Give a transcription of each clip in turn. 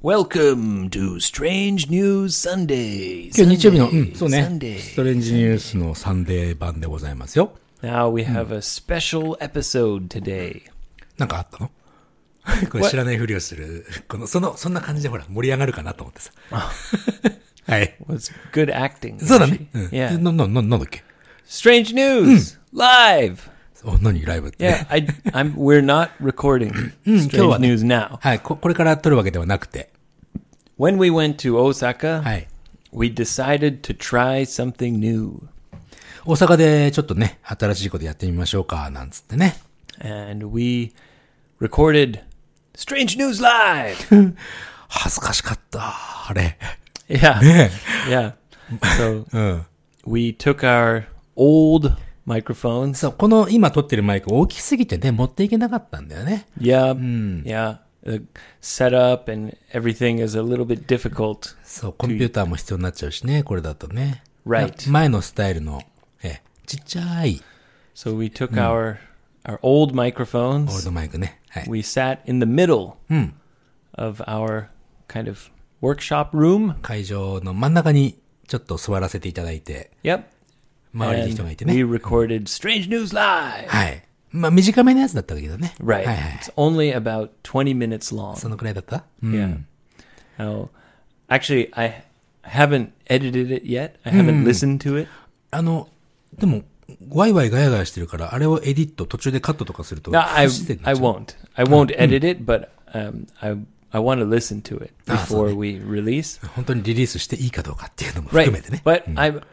Welcome to Strange News Sunday. 今日日曜日の、そうね、 Sunday. ストレンジニュースのサンデー版でございますよ。 Now we have a special episode today. なんかあったのこれ知らないふりをする。そんな感じでほら、盛り上がるかなと思ってさ。はい。 Well, it's good acting. そうだね。 Yeah. なんだっけ Strange News Live. 何ライブって。 Yeah, we're not recording Strange News now. はい、これから撮るわけではなくて。 When we went to Osaka, はい。 we decided to try something new. 大阪でちょっとね、新しいことやってみましょうか、なんつってね。 And we recorded Strange News Live. 恥ずかしかった、あれ。 Yeah. ね Yeah. So, we took our old microphones. そう、この今撮ってるマイク大きすぎてね、持っていけなかったんだよね。 Yeah. Yeah. The setup and everything is a little bit difficult. そう、コンピューターも必要になっちゃうしね、これだとね。 Right. 前のスタイルの、ちっちゃい。 So we took our old microphones. オールドマイクね。はい。 We sat in the middle of our kind of workshop room. 会場の真ん中にちょっと座らせていただいて。 Yep. 周りに人がいて And ね。 we recorded Strange News Live. はい。まあ短めのやつだったけどね。 Right. はいはい。 It's only about 20 minutes long. そのくらいだった？ Yeah. Now, actually, I haven't edited it yet. I haven't listened to it. でも、ワイワイガヤガヤしてるから、あれをエディット、途中でカットとかすると。 No, I 不自然になっちゃう won't. I won't edit it, but I want to listen to it before we release. 本当にリリースしていいかどうかっていうのも含 Right. めてね。 But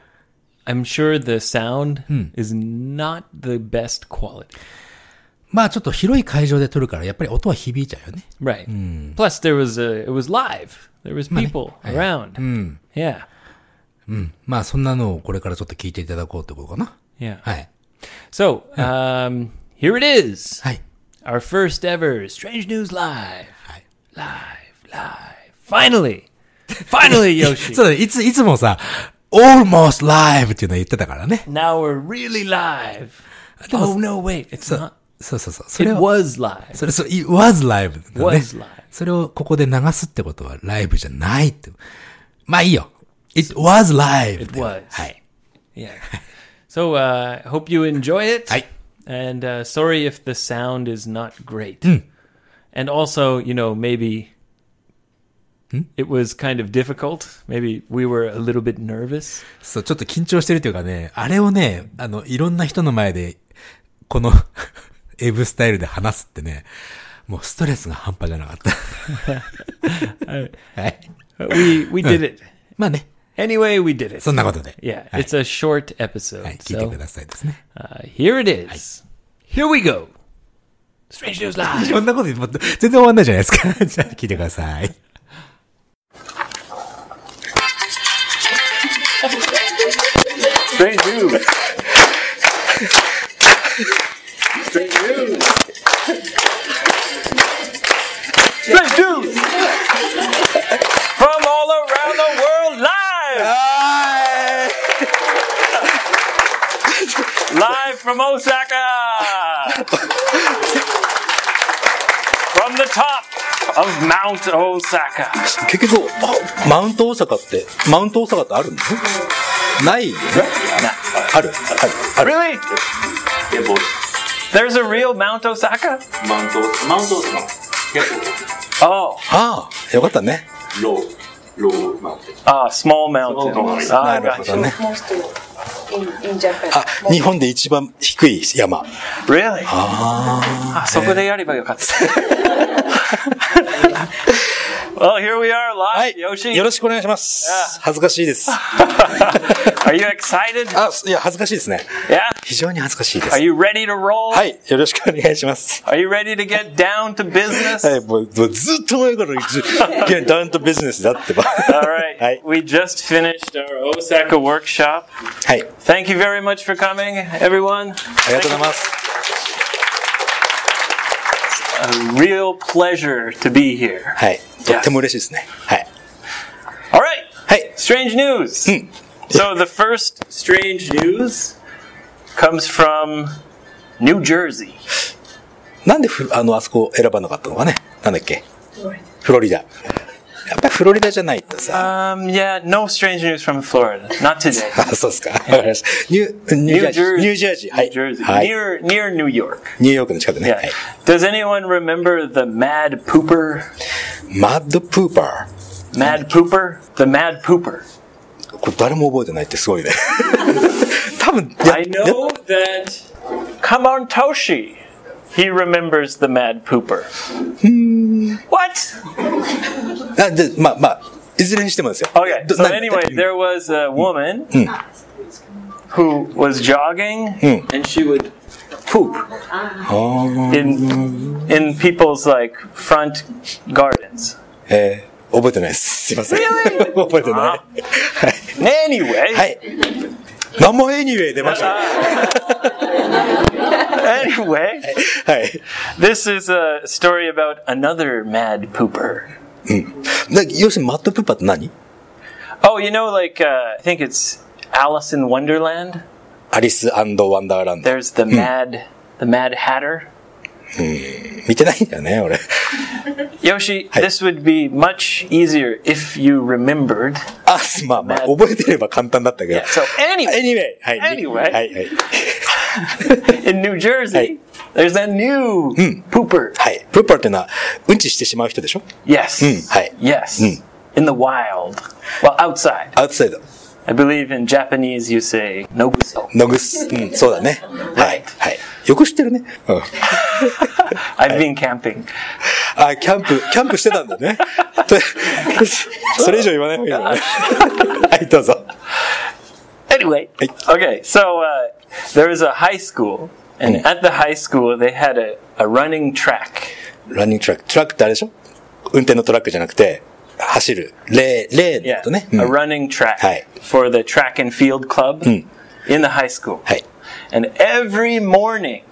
I'm sure the sound is not the best quality. まあちょっと広い会場で撮るから、やっぱり音は響いちゃうよね。 Right. Plus, it was live. There was people around. Yeah. まあそんなのをこれからちょっと聞いていただこうってことかな。 Yeah. はい。 So, here it is. はい。 Our first ever Strange News Live. はい。 Finally! Finally, Yoshi! そうだね。いつもさ、almost live っていうの言ってたからね。 Now we're really live. Oh, no, wait. It's not. そう。それ It を、 was live. it was live だね。 Was live. それをここで流すってことはライブじゃないって。まあいいよ。It was live. It was. はい。 Yeah. So, hope you enjoy it. はい。 And sorry if the sound is not great. And also, maybe it was kind of difficult. Maybe we were a little bit nervous. そう、ちょっと緊張してるというかね、あれをね、いろんな人の前で、この、エブスタイルで話すってね、もうストレスが半端じゃなかった。はい。 We did it. まあね。 Anyway, we did it. そんなことで。 Yeah, はい。 it's a short episode. はい、聞いてくださいですね。 Here it is. Here we go. Strange News Live. こんなこと言っても全然終わんないじゃないですか。じゃあ聞いてください。 Strange News. Strange News. Strange News. From all around the world live. Live from Osaka. From the top of Mount Osaka. 結局、マウント大阪ってあるの？ないよね。ある。 Really? There's a real Mount Osaka? マウント大阪。 Oh. ああ、よかったね。ローマウンテン。 Small mountain. なるほどね。あ、日本で一番低い山。 Really? そこでやればよかった。Well, here we are は live, い。 Yoshi. よろしくお願いします。恥ずかしいです。 Are you excited? いや、恥ずかしいですね。 Yeah? 非常に恥ずかしいです。 Are you ready to roll? はい、よろしくお願いします。 Are you ready to get down to business? はい、もうずっと前からダウンとビジネスだってば。 All right. はい。 We just finished our Osaka workshop. はい。 Thank you very much for coming, everyone. ありがとうございます。 A real pleasure to be here. はい。とっても嬉しいですね。はい。 All right. はい。 Strange news. So the first strange news comes from New Jersey. なんであそこ選ばなかったのかね。なんだっけ。フロリダ。 やっぱりフロリダじゃないとさ。 Yeah, no strange news from Florida. Not today. あ、そうですか。わかりました。ニュージャージー。はい。 New Jersey. はい。 Near New York. ニューヨークの近くね。 Yeah. はい。 Does anyone remember the Mad Pooper? マッドプーパ Mad Pooper? The Mad Pooper. ー。これ誰も覚えてないってすごいね。多分、 I know that Kamon Toshi, he remembers the Mad Pooper. What? で、まあ、いずれにしてもですよ。 Okay, so な anyway, there was a woman who was jogging and she would poop in people's like front gardens. 覚えてないです。すいません。覚えてない。はい。 Anyway, はい。何もエニウェイ出ました。 anyway, はい。 this is a story about another mad pooper. 要するにマッドプーパーって何？ Oh, you know, like I think it's Alice in Wonderland. アリス&ワンダーランド。 There's the Mad Hatter. 見てないんだよね、俺。 Yoshi, this would be much easier if you remembered. あ、まあ、覚えてれば簡単だったけど。 Yeah, so anyway, はい。 Anyway. はい、はい。 in New Jersey, there's a new pooper. はい。プーパーっていうのは、うんちしてしまう人でしょ？ Yes. Hi. Yes. In the wild. Well, outside. アウトサイド。 I believe in Japanese you say noguso. ノグス。そうだね。はい。はい。よく知ってるね。 I've been camping. あ、キャンプしてたんだね。それ以上言わない方がいいよね。はい、どうぞ。 Anyway, okay, so there was a high school, and at the high school they had a running track. ランニングトラック。トラックってあれでしょ？運転のトラックじゃなくて、走る。レー Yeah, とね。 a running track Hi. for the track and field club in the high school. はい。 And every morning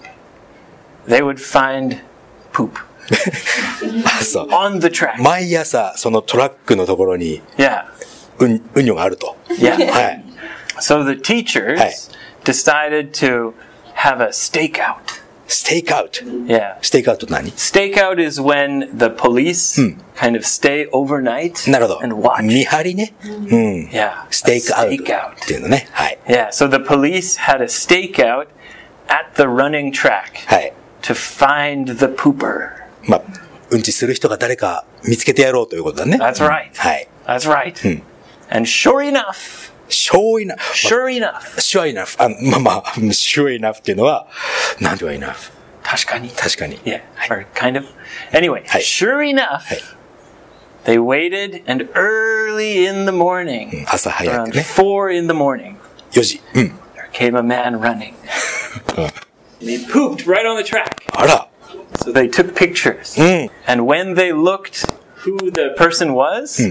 they would find poop あ、そう。 on the track. 毎朝、そのトラックのところに、 Yeah, うんにょがあると。 yeah. はい。 So the teachers Hi. decided to have a stakeout. ステイクアウト。 Yeah. ステイクアウトって何？ Stakeout is when the police kind of stay overnight なるほど。 and watch. 見張りね。 Yeah. ステイクアウト Stakeout. っていうのね。はい。 Yeah. So the police had a stakeout at the running track はい。 to find the pooper. まあ、うんちする人が誰か見つけてやろうということだね。 That's right. はい。 That's right. And sure enough, sure enough. sure enough. sure enough. まあ、sure enough っていうのは、なんて言えば enough。 確かに。 確かに。 Yeah. Or kind of. Anyway, Hi. sure enough, Hi. they waited and early in the morning, 朝早 around くね。 4 in the morning, 4時。 there came a man running. And he pooped right on the track. あら。 So they took pictures. And when they looked who the person was,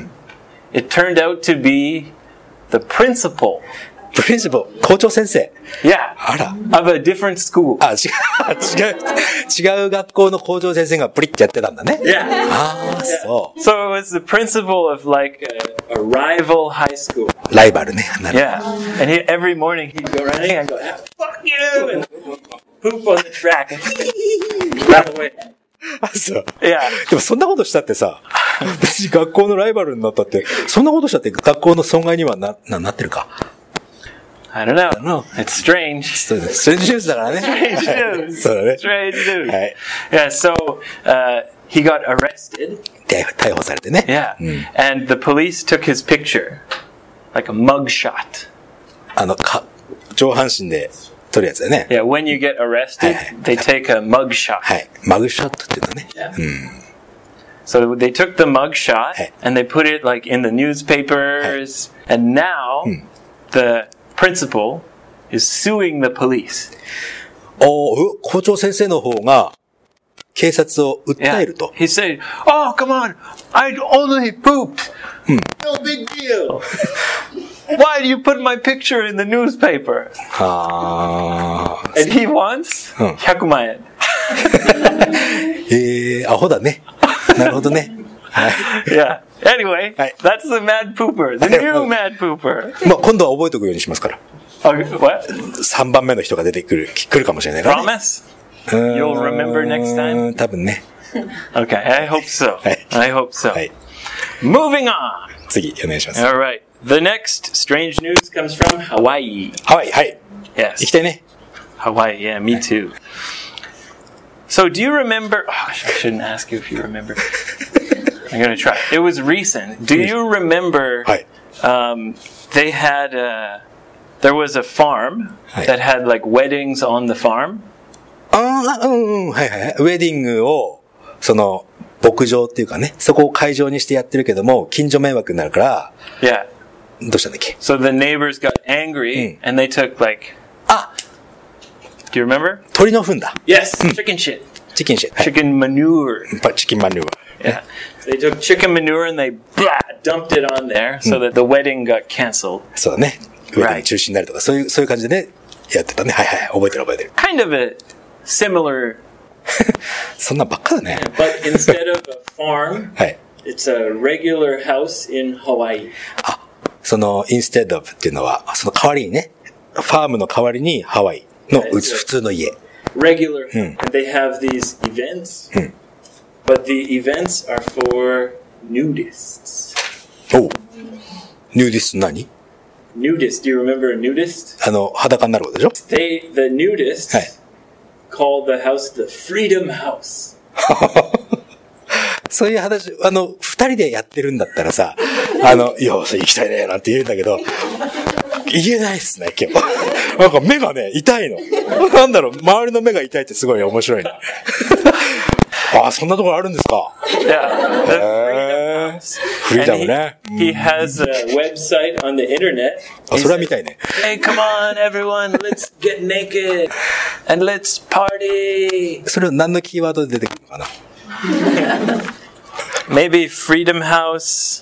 it turned out to be the principal. プリンシパル、校長先生。 Yeah. あら。 Of a different school. あ、違う学校の校長先生がプリってやってたんだね。 Yeah. ああ、そ So it was the principal of like a rival high school. う。ライバルね。なる Yeah. And every morning he'd go running and go, fuck you! And poop on the track. And run away. あ、そう。 Yeah. でもそんなことしたってさ、別に学校のライバルになったって、そんなことしたって学校の損害にはなってるか。 I don't know. know. It's strange. そうだね。ストレンジニュースだからね。 Strange はい news. そうだね。 Strange news. はい。 Yeah, so he got arrested. で、逮捕されてね。 Yeah. And the police took his picture. Like a mug shot. 上半身で撮るやつだよね。 Yeah, when you get arrested, they take a mug shot. はい。マグショットっていうのね。 So they took the mug shot Hey. and they put it like in the newspapers. And now the principal is suing the police. 校長先生の方が警察を訴えると。 He said, "Oh, come on! I only pooped. No big deal. Why do you put my picture in the newspaper?" はあ。 And he wants 100万円. アホだね。なるほどね。はい。 Yeah. Anyway, Hey. that's the mad pooper. The new mad pooper. まあ今度は覚えておくようにしますから。 Okay, what? 3番目の人が来るかもしれないからね。 Promise? You'll remember next time? 多分ね。 Okay, I hope so. Hey. I hope so. はい。 Moving on. 次、お願いします。 All right. The next strange news comes from Hawaii. ハワイ、はい。 Yes. 行きたいね。 Hawaii, yeah, me too. So, do you remember? Oh, I shouldn't ask you if you remember. I'm going to try. It was recent. Do you remember? はい。 They had there was a farm that had like weddings on the farm. はいはい。ウェディングを、牧場っていうかね、そこを会場にしてやってるけども、近所迷惑になるから、 Yeah. どうしたんだっけ So the neighbors got angry and they took like. Do you remember? 鳥の糞だ。 Yes, chicken shit. チキンシェット。 Chicken manure. チキンマニュア。 Yeah. They took chicken manure and they dumped it on there so that the wedding got canceled. そうだね。ウェディング中止になるとか、そういう感じでね、やってたね。はいはい。覚えてる覚えてる。 Kind of a similar, そんなばっかだね。 but instead of a farm, はい。 it's a regular house in Hawaii. instead of っていうのは、その代わりにね、ファームの代わりにハワイの普通の家。 Regular. And they have these events, but the events are for nudists. おう。ヌーディスト何 Nudist, do you remember a nudist? 裸になることでしょ The nudists はい。 called the house the Freedom House. そういう話、二人でやってるんだったらさ、いや、行きたいね、なんて言うんだけど、言えないっすね、今日。なんか目がね、痛いの。なんだろう、周りの目が痛いってすごい面白いね。あ、そんなところあるんですか Yeah, the Freedom House. フリーダムね。 He has a website on the internet. あ、それは見たいね。 Hey, come on, everyone, let's get naked and let's party. それは何のキーワードで出てくるのかな Maybe Freedom House.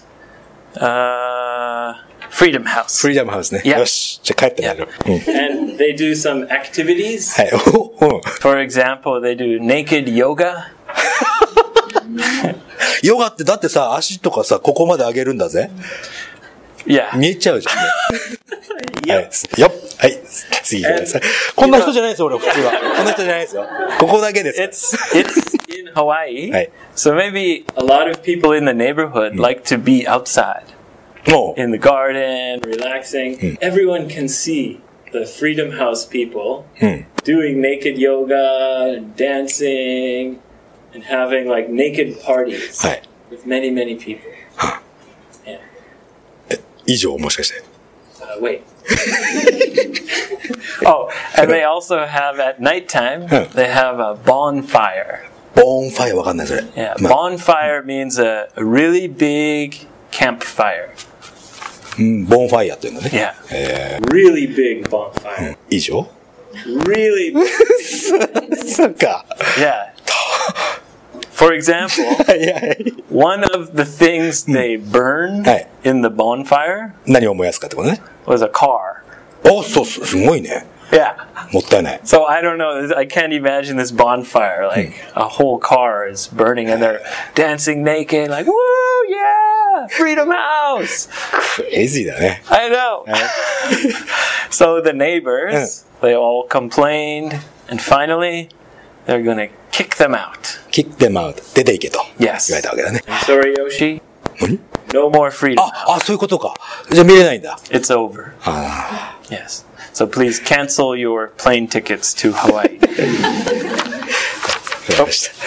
Freedom House. フリーダムハウスね。 Yeah. よし。じゃあ帰ってみる。うん。 And they do some activities. はい。うん。 For example, they do naked yoga. ヨガってだってさ、足とかさ、ここまで上げるんだぜ。 Yeah. 見えちゃうじゃんね。はい。よっ。はい。次ください。こんな人じゃないですよ、俺、普通は。こんな人じゃないですよ。ここだけです。 It's in Hawaii. Right. So maybe a lot of people in the neighborhood like to be outside もう、 in the garden, relaxing. Everyone can see the Freedom House people doing naked yoga and dancing and having like naked parties はい。 with many, many people. Yeah. 以上、もしかして。 Wait. Oh, and they also have at nighttime, they have a bonfire. ボーンファイアわかんない、それ。 Yeah, まあ bonfire means a really big campfire. うんボーンファイアっていうのね。 Yeah. Really big bonfire. 以上 Really big. そうか。 Yeah. For example, はいはい。 one of the things they burn Hey. in the bonfire 何を燃やすかってことね。 was a car. お、そう、すごいね。 Yeah. もったいない。 So I don't know. I can't imagine this bonfire. Like a whole car is burning and they're dancing naked. Like, woo, yeah, Freedom House. クレイジーだね。 I know. So the neighbors, they all complained, and finally, they're gonna kick them out. キックデムアウト。出ていけと。 Yes. 言われたわけだね。 Sorry, Yoshi. 何 No more freedom. あ、そういうことか。じゃあ見れないんだ。 It's over. あ Yes. So please cancel your plane tickets to Hawaii. あ、わかりました。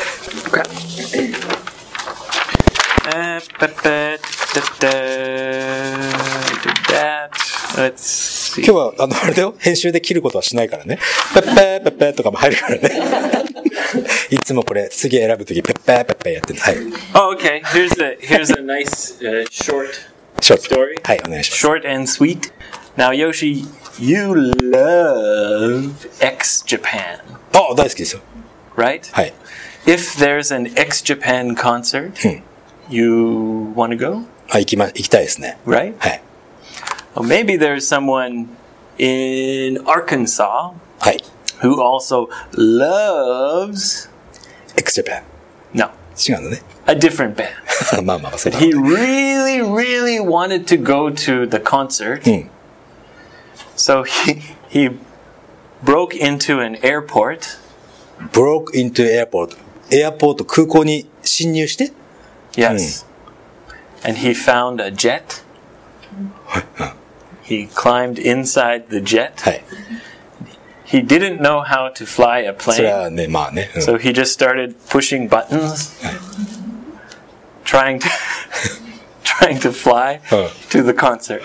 Let's see. 今日は、あれだよ。編集で切ることはしないからね。ペッペーペッペーとかも入るからね。いつもこれ、次選ぶとき、ペッペーペッペーやってる。はい。 Oh, okay. Here's a nice short ショート。 story. はい、お願いします。 Short and sweet. Now, Yoshi, you love X-Japan, あ、大好きですよ。 right? はい。 If there's an X-Japan concert, you want to go, あ、行きたいですね。 right? はい。 Well, maybe there's someone in Arkansas はい。 who also loves, X Japan。 no, 違うのね。 a different band. まあまあ、そうだ。 He really, really wanted to go to the concert. So he broke into an airport. broke into airport. エアポート、空港に侵入して、 Yes. and he found a jet. He climbed inside the jet. はい。 He didn't know how to fly a それ plane, はね、まあね。うん so he just started pushing buttons, trying to trying to fly to the concert.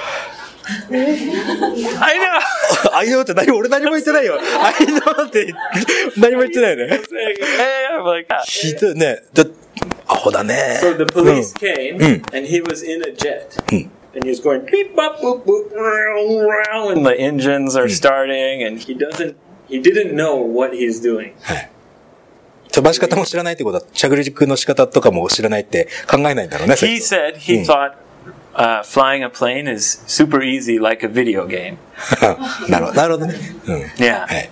I know. I know って何俺何も言ってないよ。I know って何も言ってないよね。 Hey, I'm like, ah. ひどいね。アホだね。 So the police came, and he was in a jet. And he was going beep bop boop boop row, and the engines are starting, and he didn't know what he's doing. はい。飛ばし方も知らないってことは、着陸の仕方とかも知らないって考えないんだろうね。 He said he thought flying a plane is super easy, like a video game. なるほどね。うん。 Yeah. はい。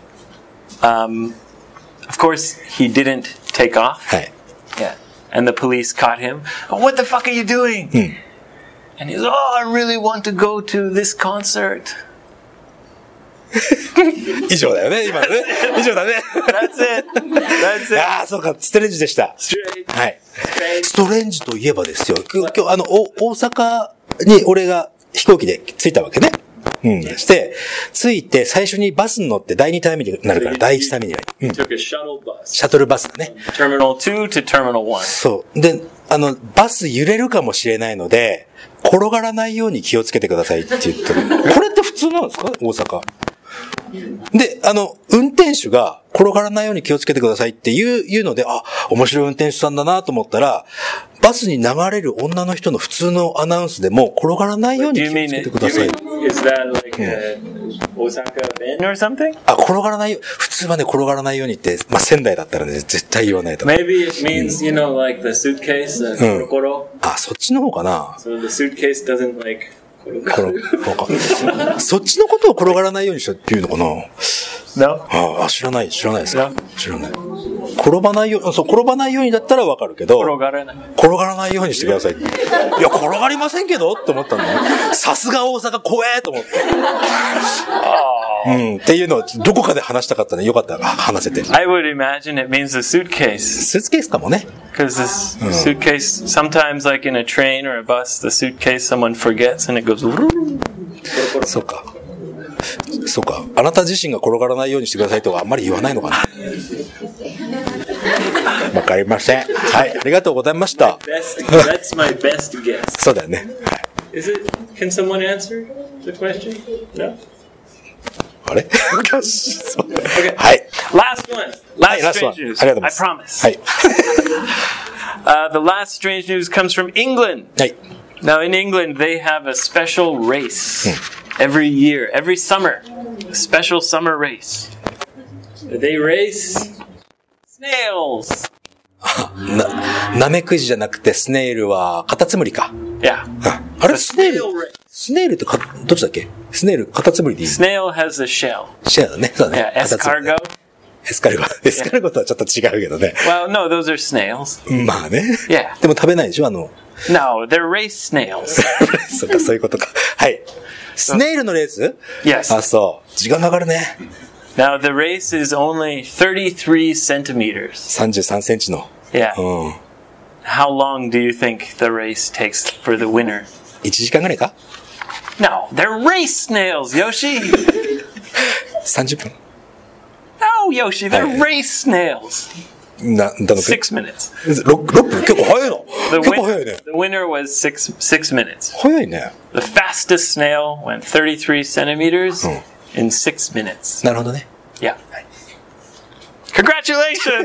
Of course, he didn't take off. はい。 Yeah. And the police caught him. Oh, what the fuck are you doing? And he's, oh, I really want to go to this concert. 以上だよね、今のね。以上だね。 That's it. That's it. ああ、そうか、ストレンジでした。 Straight. はい。ストレンジといえばですよ。今日、大阪に俺が飛行機で着いたわけね。して、着いて最初にバスに乗って第2ターミナルになるから、第1ターミナルに。 Took a shuttle bus. シャトルバスだね。 Terminal 2 to Terminal 1. そう。で、バス揺れるかもしれないので、転がらないように気をつけてくださいって言ってる。これって普通なんですか？大阪。で、運転手が転がらないように気をつけてくださいっていうので、あ、面白い運転手さんだなと思ったら、バスに流れる女の人の普通のアナウンスでも転がらないように気をつけてください。 Is that like Osaka Ben or something? あ、転がらないよ。普通はね、転がらないようにって、まあ、仙台だったらね、絶対言わないと。 Maybe it means, you know, like the suitcase, korokoro. あ、そっちの方かな。 So the suitcase doesn't like korokoro. そっちのことを転がらないようにしたっていうのかな。 No? あ、知らないですか。知らない。転ばないようにだったらわかるけど、転がらないようにしてください。いや、転がりませんけどって思ったんだよ。さすが大阪怖えと思って。っていうのをどこかで話したかったね。よかったら話せて。 I would imagine it means the suitcase. スーツケースかもね。 Because this suitcase, sometimes like in a train or a bus, the suitcase someone forgets and it goes. そうか。そうか。あなた自身が転がらないようにしてくださいとはあんまり言わないのかな。わかりません。はい、ありがとうございました。 That's my best guess. そうだよね。 Is it? Can someone answer the question? No. あれ？ Okay. はい。 Last one. Last strange news. ありがとうございます。 I promise. はい。 The last strange news comes from England. はい。 Now in England they have a special race every year, every summer. A special summer race. They race snails. ナメクジじゃなくてスネイルはカタツムリか。 Yeah. あれスネイルってどっちだっけ？スネイルカタツムリでいい？ Snail has a shell. シェアだね。そうだね。 Yeah, escargot. エスカルゴとはちょっと違うけどね。 Well, no, those are snails. まあね。 Yeah. でも食べないでしょ No, they're race snails. そっか、そういうことか。はい。スネイルのレース？ Yes. あ、そう。時間かかるね。 Now the race is only 33 centimeters. 33センチの。 Yeah. How long do you think the race takes for the winner? 1時間ぐらいか？ No, they're race snails, Yoshi. 30分。 No, Yoshi, they're race snails. 6 minutes. 6分結構早いの。結構早いね。 The winner was 6 minutes. 早いね。 The fastest snail went 33 centimeters in 6 minutes. なるほどね。 Yeah. Congratulations!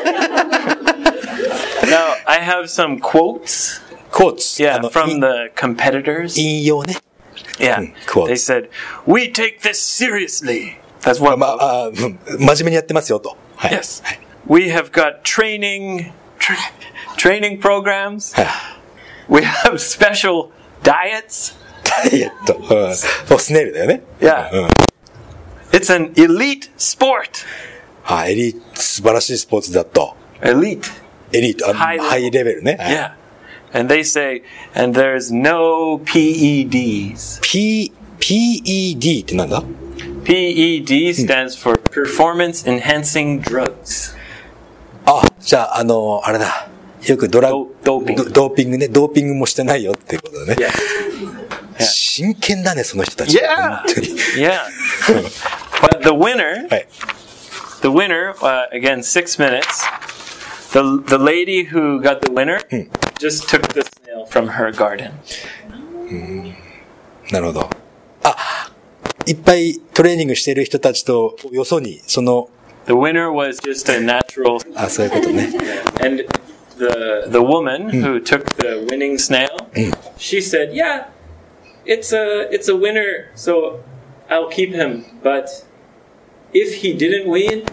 Now, I have some quotes. Quotes. Yeah, from the competitors. 引用ね。 Yeah. Quotes. They said, "We take this seriously." That's what. 真面目にやってますよと。 Yes. We have got training programs. We have special diets. ダイエット。スネイルだよね。 Yeah. It's an elite sport. エリート、素晴らしいスポーツだと。 Elite. エリート、ハイレベルね。 Yeah. And they say, and there's no PEDs. PED ってなんだ？ PED stands for Performance Enhancing Drugs. あ、じゃあ、あれだ。 よくドーピングね。ドーピングもしてないよっていうことだね。 Yeah. 真剣だね、その人たち。 Yeah. 本当に。 Yeah. But the winner, again, 6 minutes. The lady who got the winner just took the snail from her garden. なるほど。いっぱいトレーニングしてる人たちとよそに、 The winner was just a natural. そういうことね。 And the woman who took the winning snail, she said, "Yeah, it's a winner, so I'll keep him. But if he didn't win,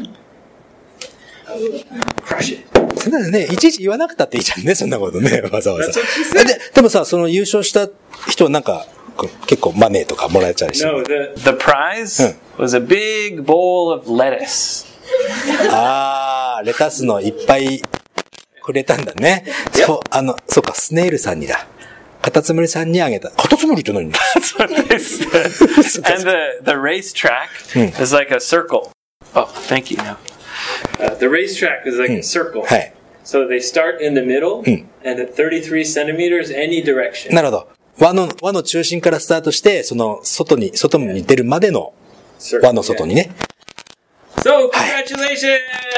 I'll crush it." そんなのね、いちいち言わなくたっていいじゃんね、そんなことね、わざわざ。 That's what she said. でもさ、その優勝した人はなんか、結構マネーとかもらえちゃうし。 No, the prize was a big bowl of lettuce. レタスのいっぱいくれたんだね。そうか、スネイルさんにだ。カタツムリさんにあげた。カタツムリって何？ That's what they said. And the racetrack is like a circle. Oh, thank you. The racetrack is like a circle. はい。 So they start in the middle and at 33 centimeters any direction. なるほど。輪の中心からスタートして、その外に出るまでの輪の外にね。 So, congratulations!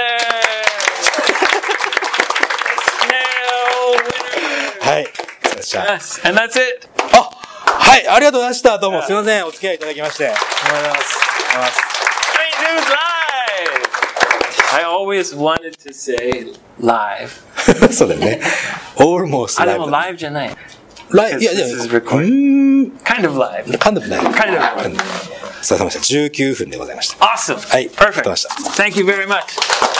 Snail winner! はい。 Yes, and that's it. はい、ありがとうございました。どうもすいません。お付き合いいただきまして。ありがとうございます。 Great news live! I always wanted to say live. そうだよね。almost live. でも live じゃない。 いや、 This is recorded. Kind of live. kind of live. Kind of live. お疲れ様でした。19分でございました。 Awesome. はい。 Perfect. ました。 Thank you very much.